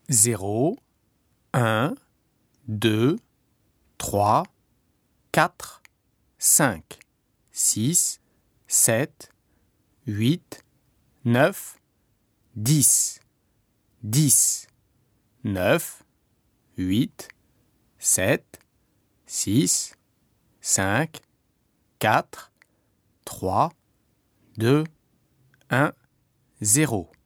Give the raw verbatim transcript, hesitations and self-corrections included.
zéro, un, deux, trois, quatre, cinq, six, sept, huit, neuf, dix, dix, neuf, huit, sept, six, cinq, quatre, trois, deux, un, zéro.